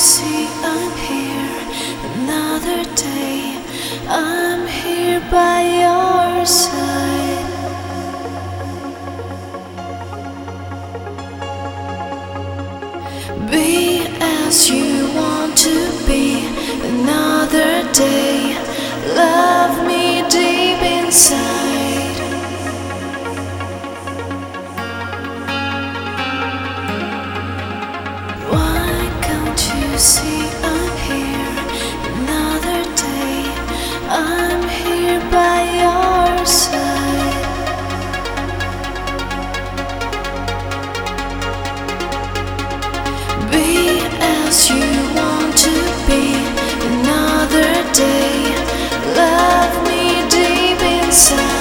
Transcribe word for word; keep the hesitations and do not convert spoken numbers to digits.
see I'm here another day. I'm here by your side. Be as you want to be another day. Love me deep inside. Why can't you see I'm here another day? I'm here by your side. Be as you want to be another day. Love me deep inside.